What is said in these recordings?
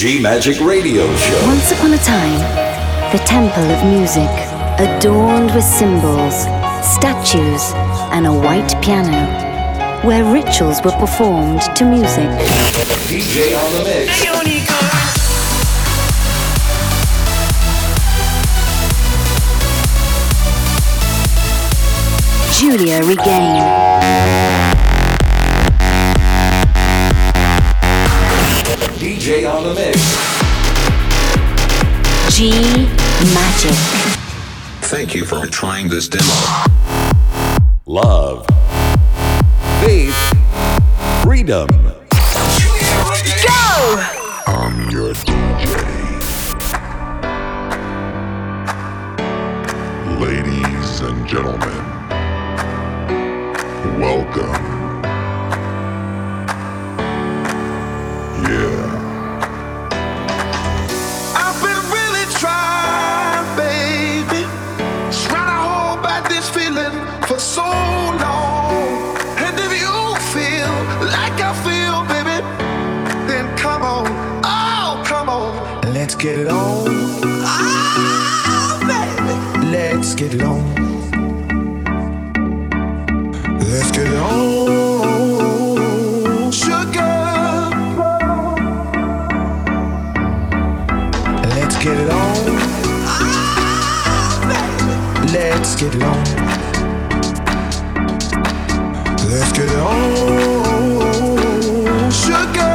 G-Magic Radio Show. Once upon a time, the temple of music, adorned with symbols, statues, and a white piano, where rituals were performed to music. DJ on the mix. Giulia Regain. DJ on the mix. G-Magic. Thank you for trying this demo. Love. Faith. Freedom. Go! I'm your DJ. Ladies and gentlemen, welcome. Yeah. I've been really trying, baby, trying to hold back this feeling for so long. And if you feel like I feel, baby, then come on, oh, come on, let's get it on. Oh, baby, let's get it on. Let's get it on, sugar. Let's get it on. Let's get it on. Let's get it on, sugar.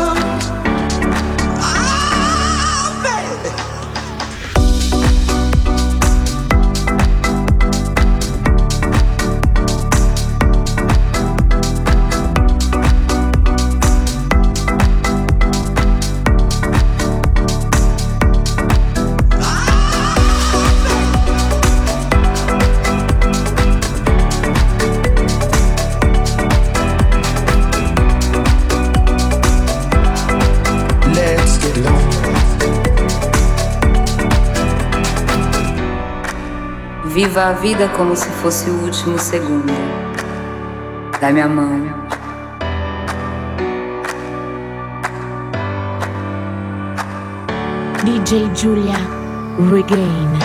Viva a vida como se fosse o último segundo. Dá-me a mão. DJ Giulia Regain.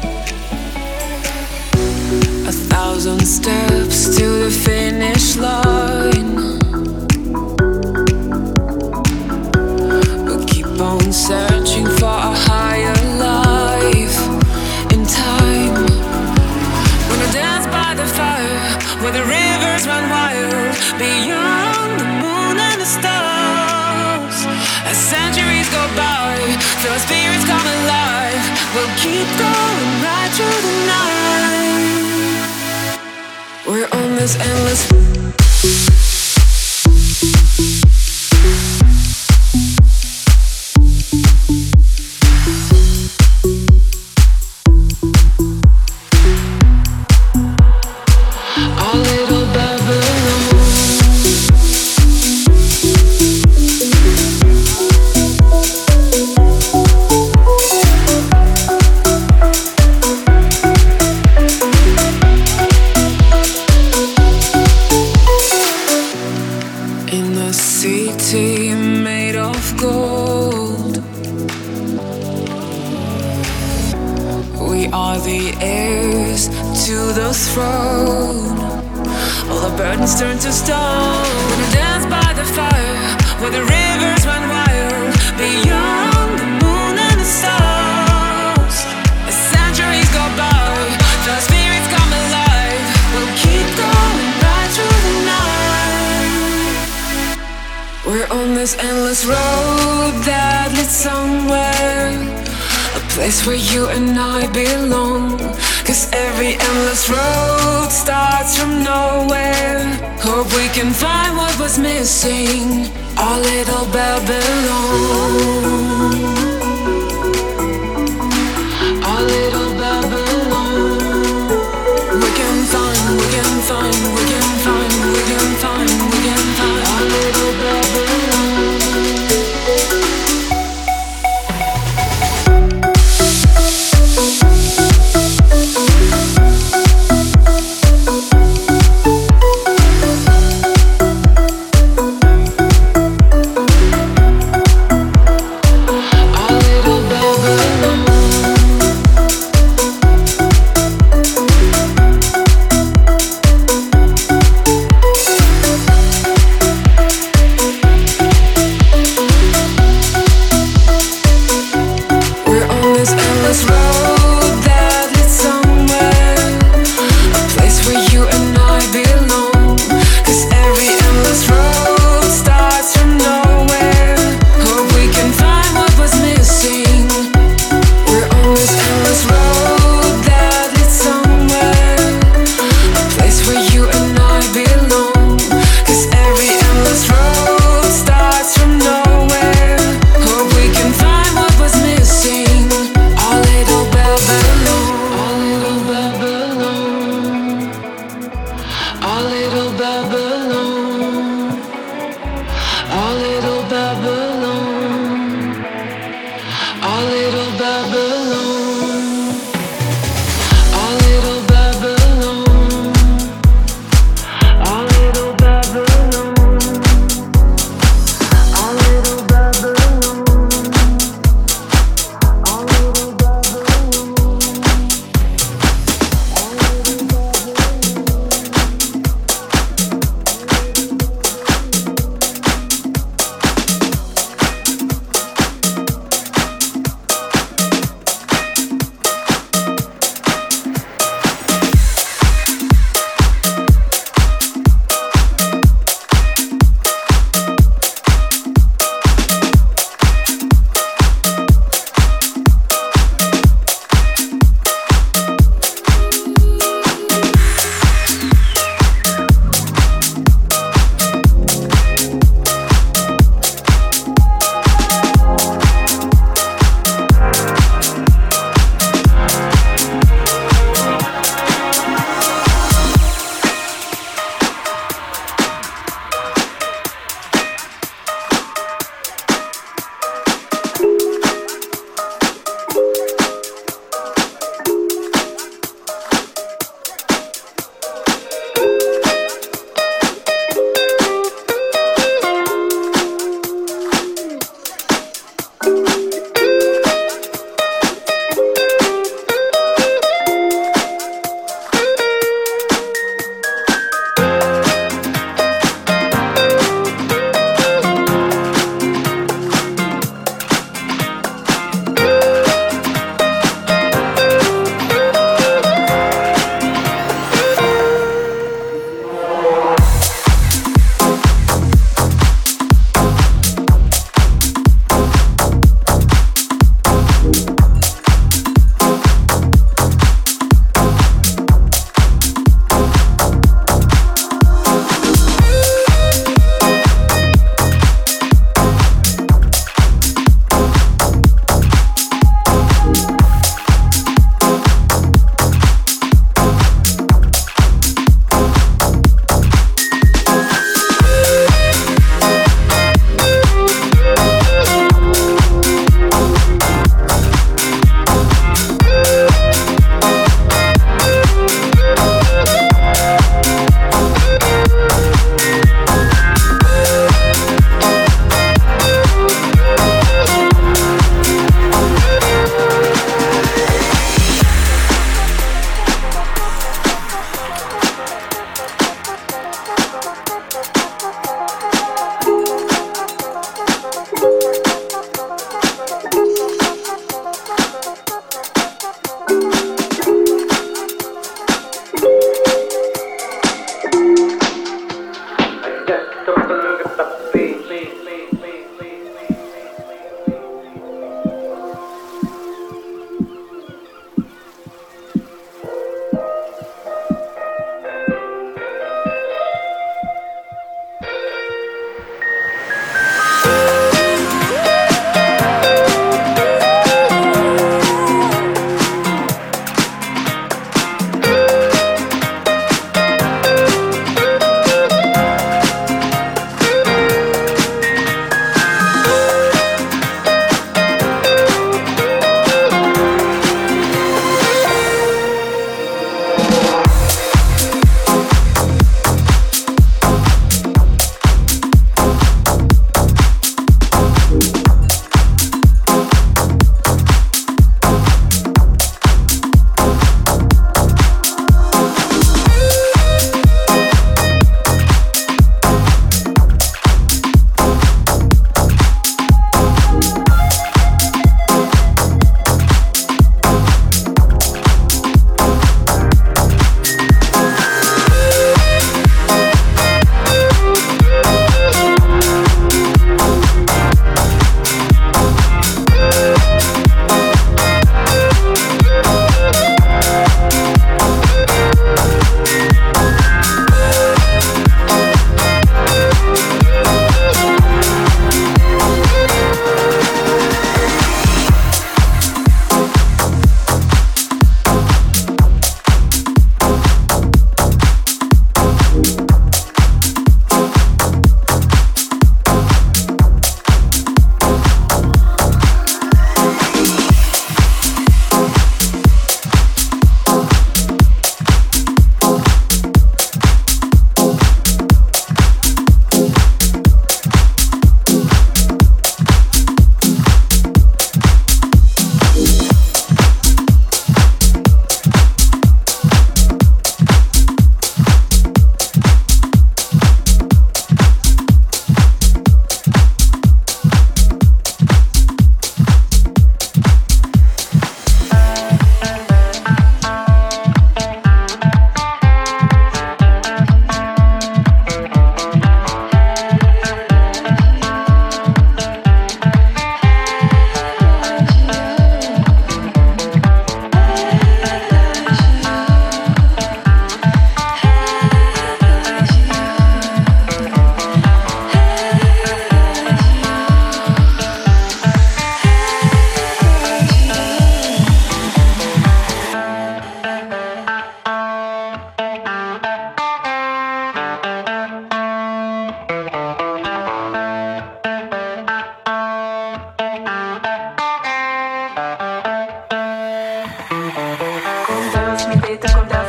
Steps to the finish line. where the rivers run wild, beyond the moon and the stars. As centuries go by, till spirits come alive, we'll keep going right through the night. We're on this endless throne. All the burdens turn to stone. Gonna dance by the fire, where the rivers run wild, beyond the moon and the stars. As centuries go by, the spirits come alive, we'll keep going right through the night. We're on this endless road that leads somewhere, a place where you and I belong. 'Cause every endless road starts from nowhere. Hope we can find what was missing, our little Babylon. Our little Babylon. We can find, we can find, we can find, we can find, we can find our little Babylon. All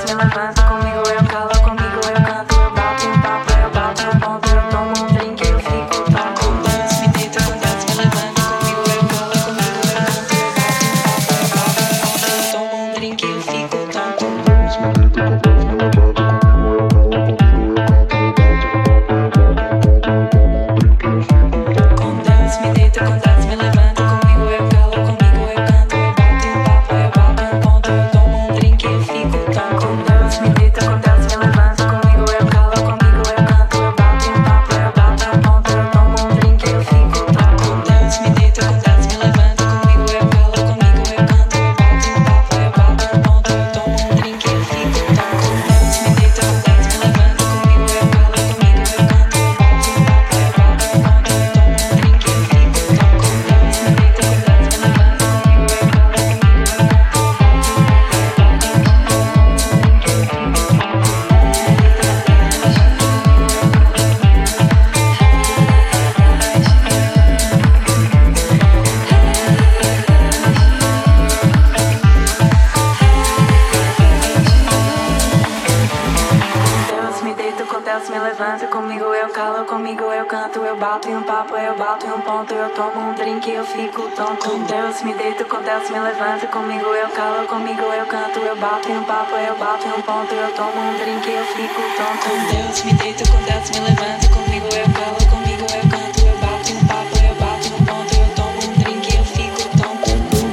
me levanta comigo, eu calo, comigo eu canto, eu bato um papo, eu bato um ponto, eu tomo um drink, eu fico tonto. Com dança me deita, com dança me levanta comigo, eu calo, comigo eu canto, eu bato um papo, eu bato um ponto, eu tomo um drink, eu fico tonto. Com dança me deita, com dança me levanta comigo, eu calo, comigo eu canto, eu bato um papo, eu bato um ponto, eu tomo um drink, eu fico tonto. Com dança me deita, com dança me levanta comigo, eu calo, comigo eu canto, eu bato um papo, eu bato um ponto, eu tomo um drink, eu fico tonto. Com dança me deita, com dança me levanta comigo, eu calo, comigo eu canto, eu bato um papo, eu bato um ponto, eu tomo um drink, eu fico tonto. Com dança me deita, com dança me levanta comigo, eu calo, comigo eu canto, eu bato um papo, eu bato um ponto, eu tomo um drink, eu fico tonto. Com dança me deita, com dança me levanta comigo, eu calo, comigo eu canto, eu bato um papo, eu bato um ponto, eu tomo um drink, eu fico Deus me deita, com Deus me levanta comigo, eu calo, comigo eu canto, eu bato em um papo, eu bato em um ponto, eu tomo um drink, eu fico tonto. Com Deus me deita, com Deus me levanta comigo, eu calo, comigo eu canto, eu bato em um papo, eu bato em um ponto, eu tomo um drink, eu fico tonto. Com Deus me deita, com Deus me levanta comigo, eu calo, comigo eu canto, eu bato em um papo, eu bato em um ponto, eu tomo um drink, eu fico tonto.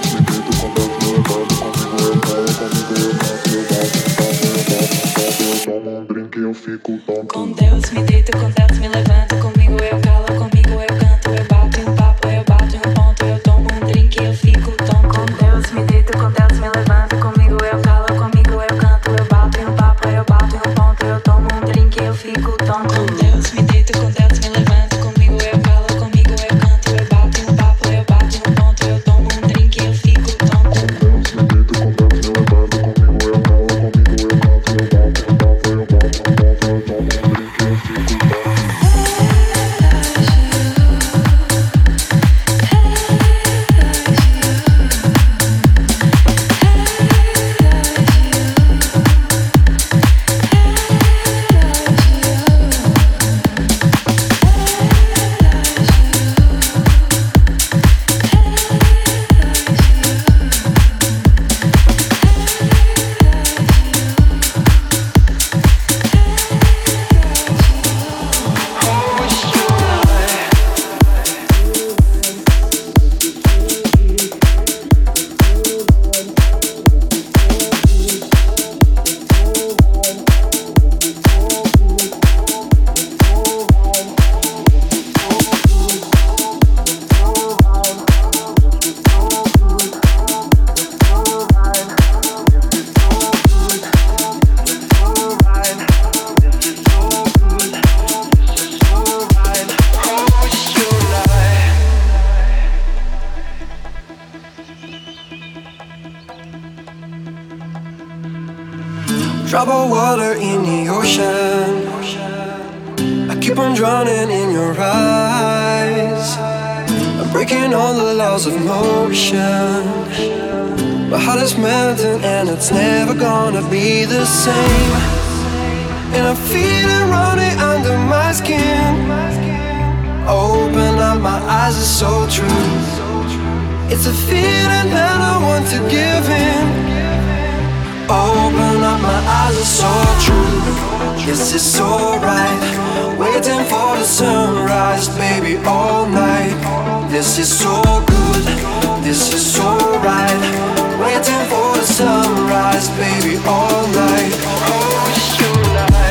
Com Deus me deita, com Deus me levanta comigo, eu calo, comigo eu canto, eu bato em um papo, eu bato em um ponto, eu tomo um drink, eu fico tonto. Com Deus me deita, com Deus me levanta comigo, eu calo, comigo eu canto, eu bato em um papo, eu bato em um ponto, eu tomo um drink, eu fico tonto. Com Deus me deita, com Deus me levanta comigo, eu calo, comigo eu canto, eu bato em um papo, eu bato em um ponto, eu tomo um drink, eu fico tonto. Drop of water in the ocean, I keep on drowning in your eyes. I'm breaking all the laws of motion. My heart is melting and it's never gonna be the same. And I feel it running under my skin. Open up, my eyes are so true. It's a feeling that I want to give in. Open up, my eyes are so true. This is so right. Waiting for the sunrise, baby, all night. This is so good, this is so right. Waiting for the sunrise, baby, all night. Oh, it's your night.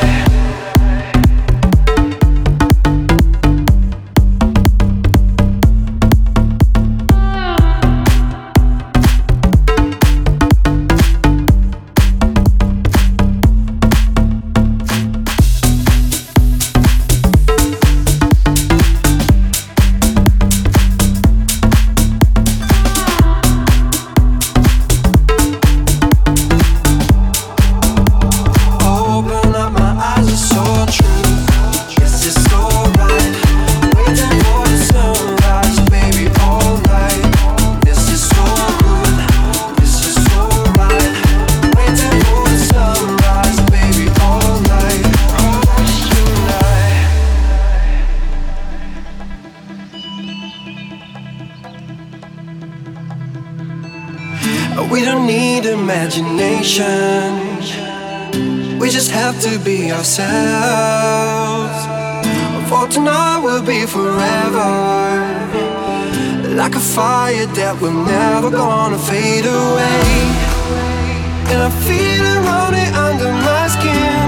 destination. We just have to be ourselves. For tonight will be forever, like a fire that we're never gonna fade away. And I feel it running under my skin.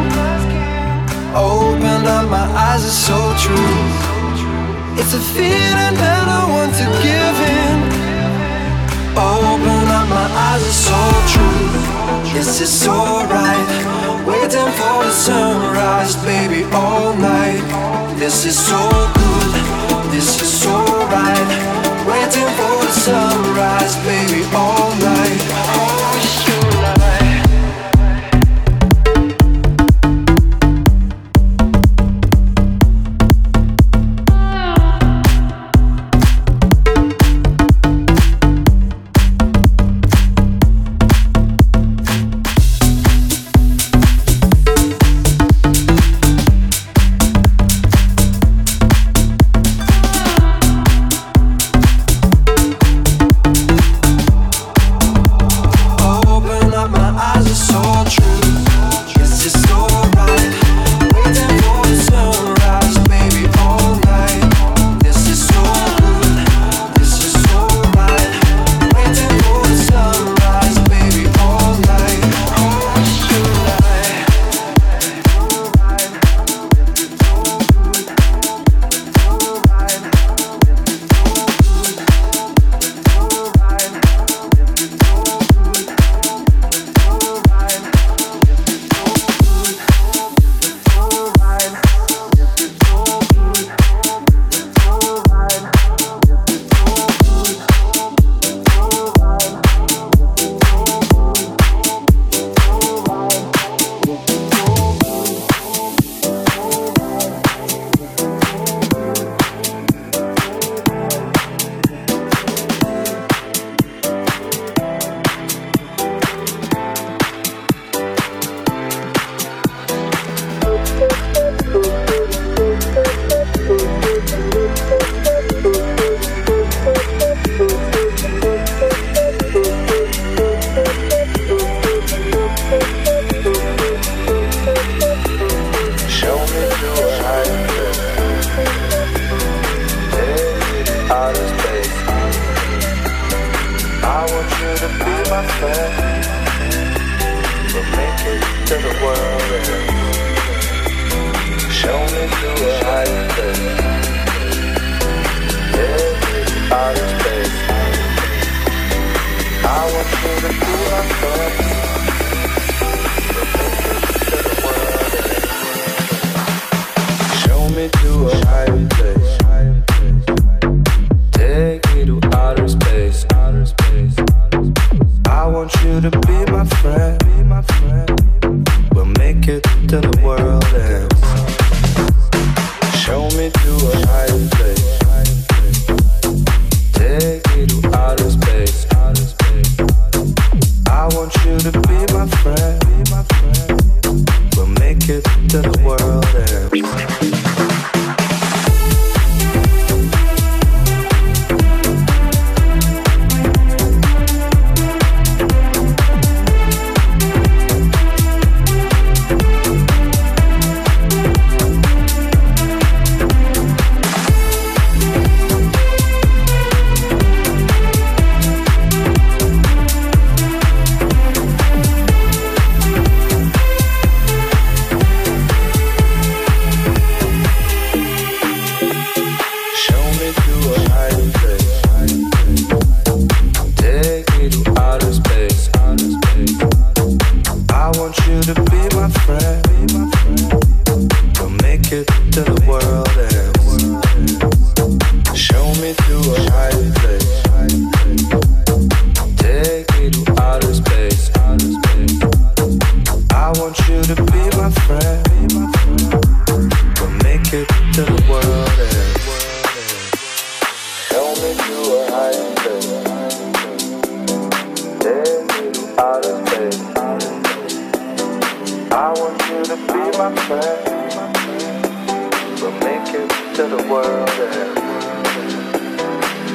Open up my eyes, it's so true. It's a feeling that I want to give in. Open up my eyes, it's so true. Yes, it's alright. Waiting for the sunrise, baby, all night. This is so good, this is so right. Waiting for the sunrise, baby, all night. Oh, sure night.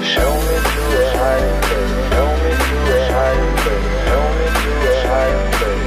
Show me to a higher place.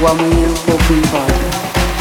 o amanhã pouco importa.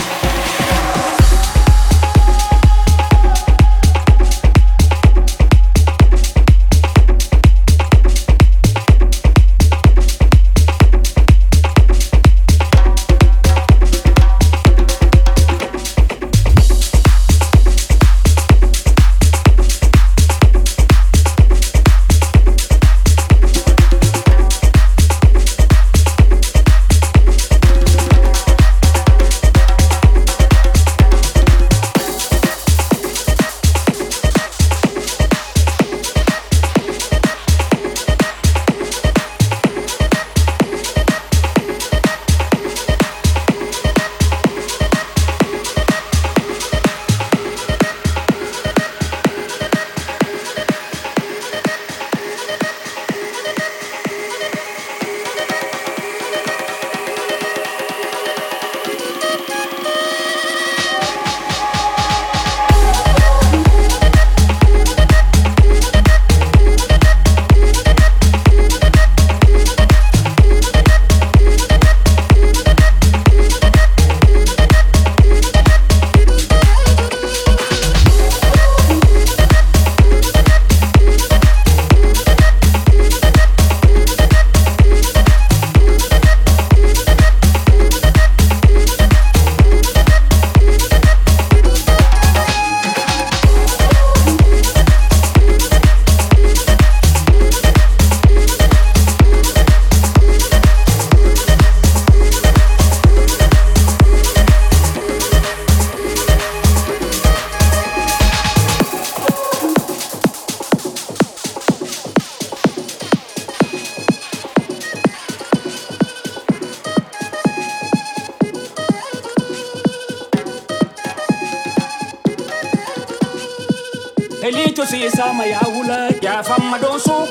Elito si sama ya wula ya fama doso.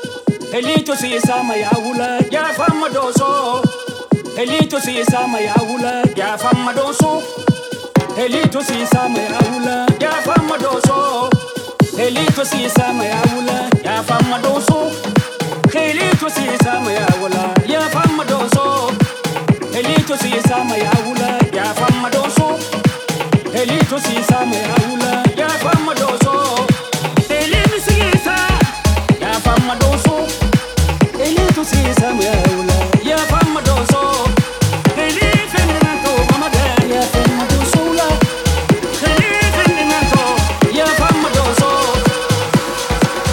Elito si sama ya wula ya fama doso. Elito si sama ya wula ya fama doso. Elito si sama ya wula ya fama doso. Elito si sama ya wula ya fama doso. Elito si sama ya wula ya fama doso. Elito si sama ya wula ya fama doso. Elito si sama ya wula ya fama doso. Elito si sama ya fama doso. Elito si sama ya wula ya fama doso. Elito na to mama da ya fama doso la. Elito na to ya fama doso.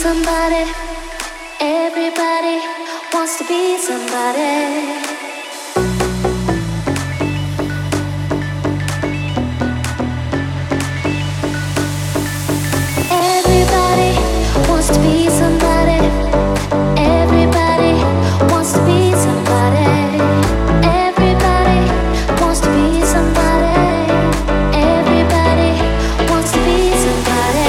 somebody. Everybody wants to be somebody. Everybody wants to be somebody. Everybody wants to be somebody. Everybody wants to be somebody. Everybody wants to be somebody.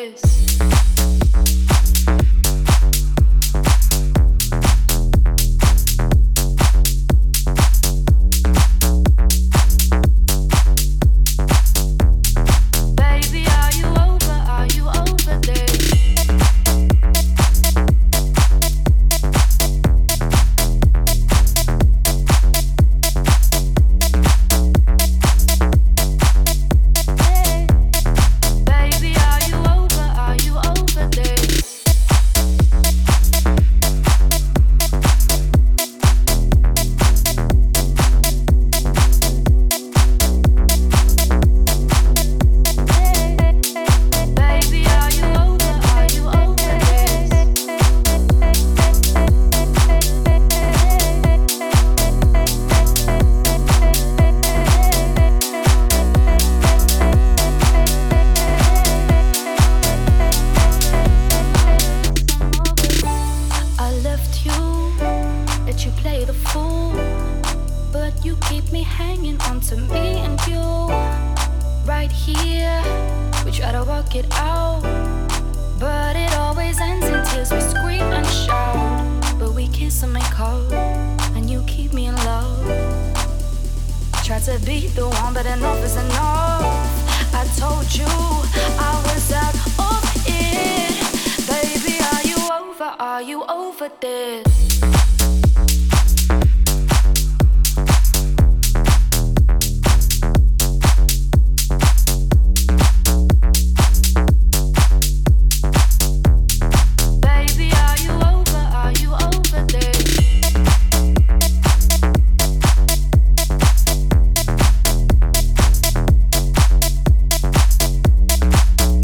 this?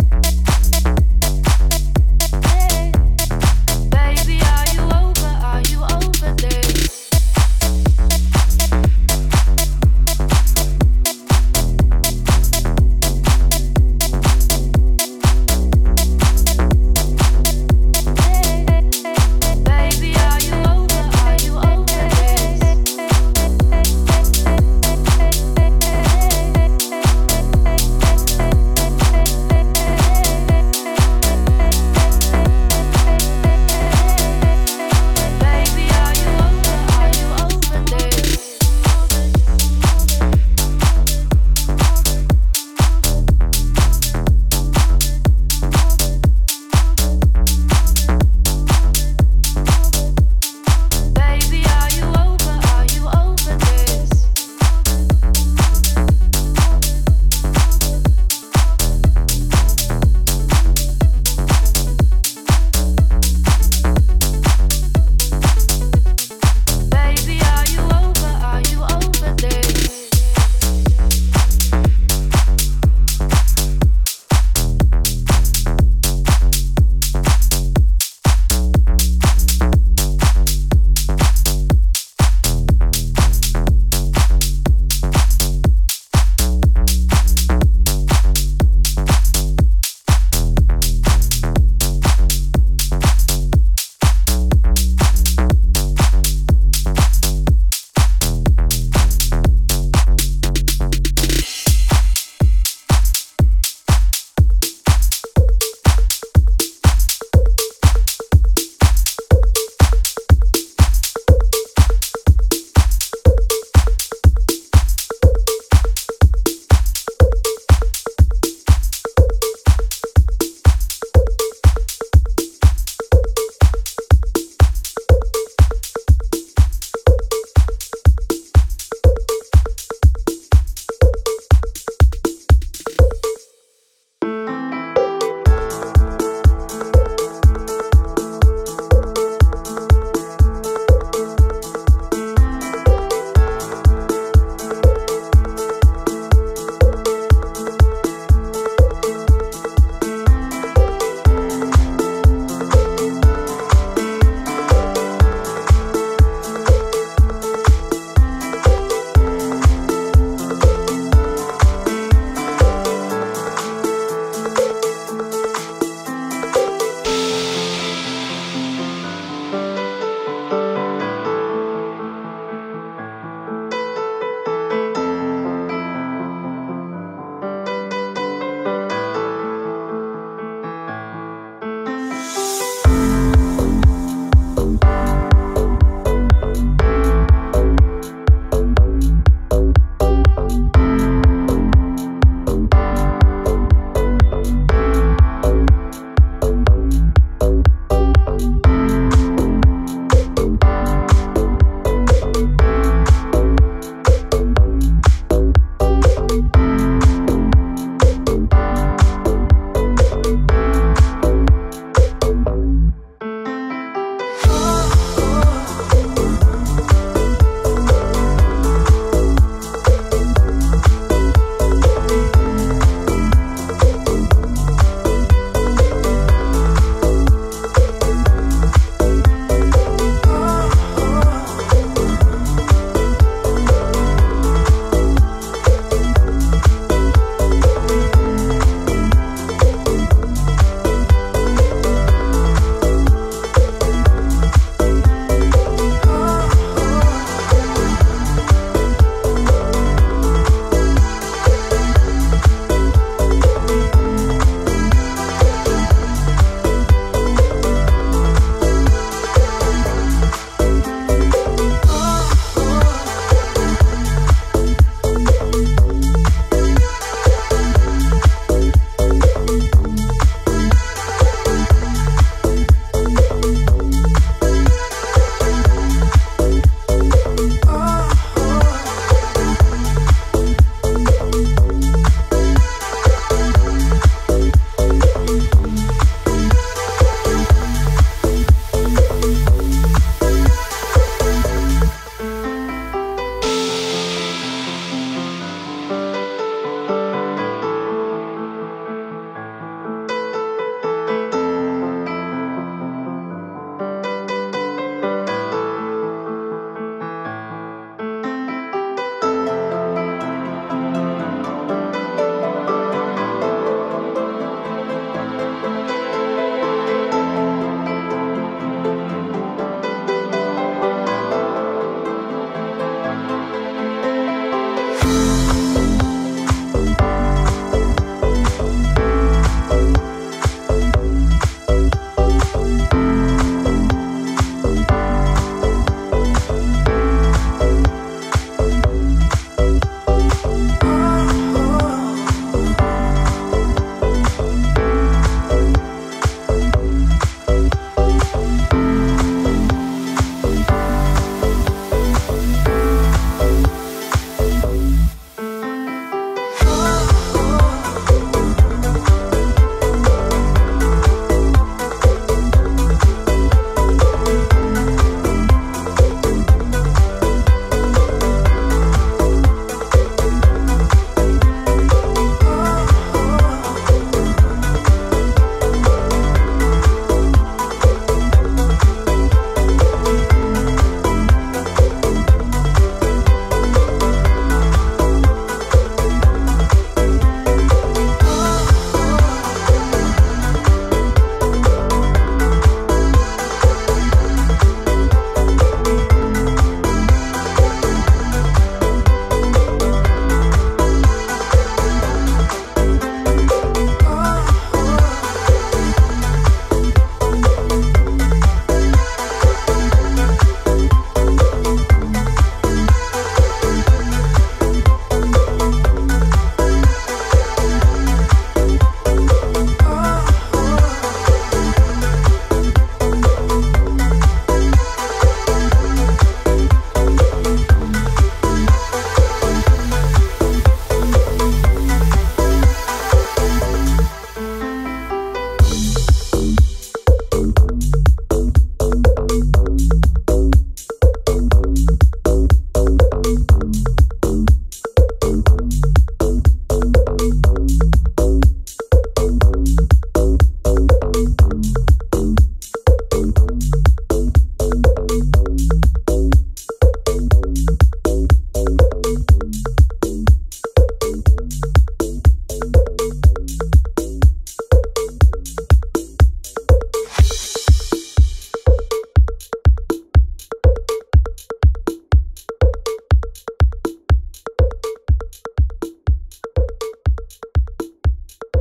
Baby, are you over? Are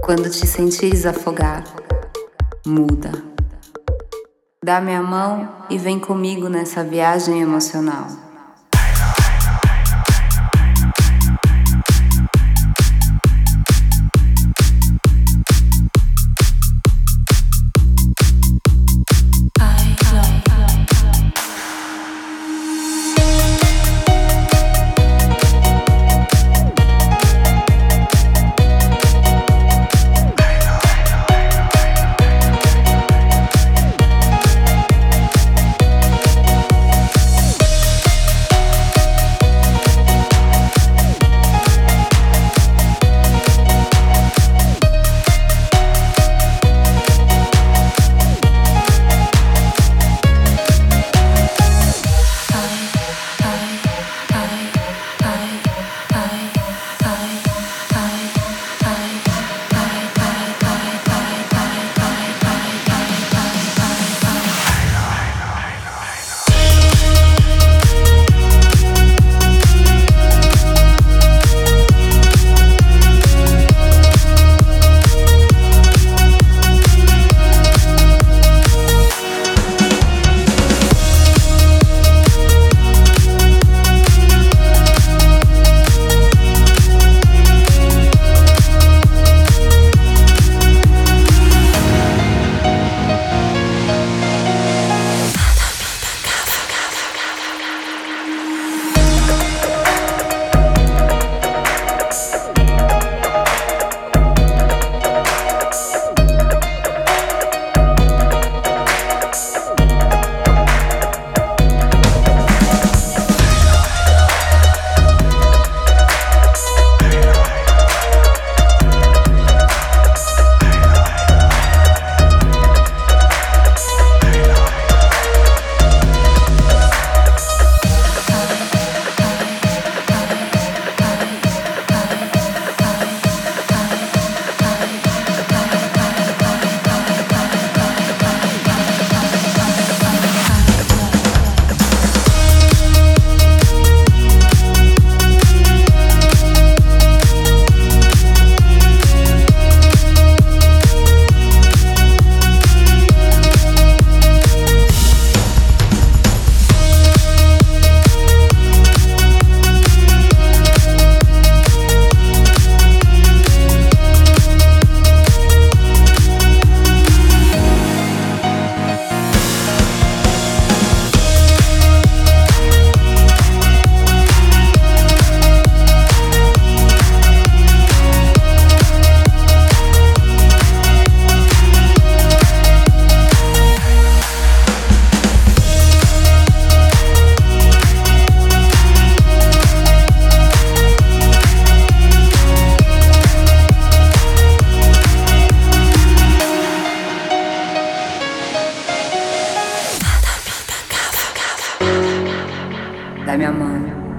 Quando te sentires afogar, muda. Dá minha mão e vem comigo nessa viagem emocional. da minha mão.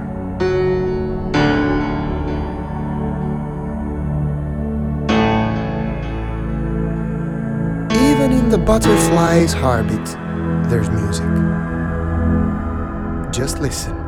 Even in the butterfly's heartbeat, there's music. Just listen.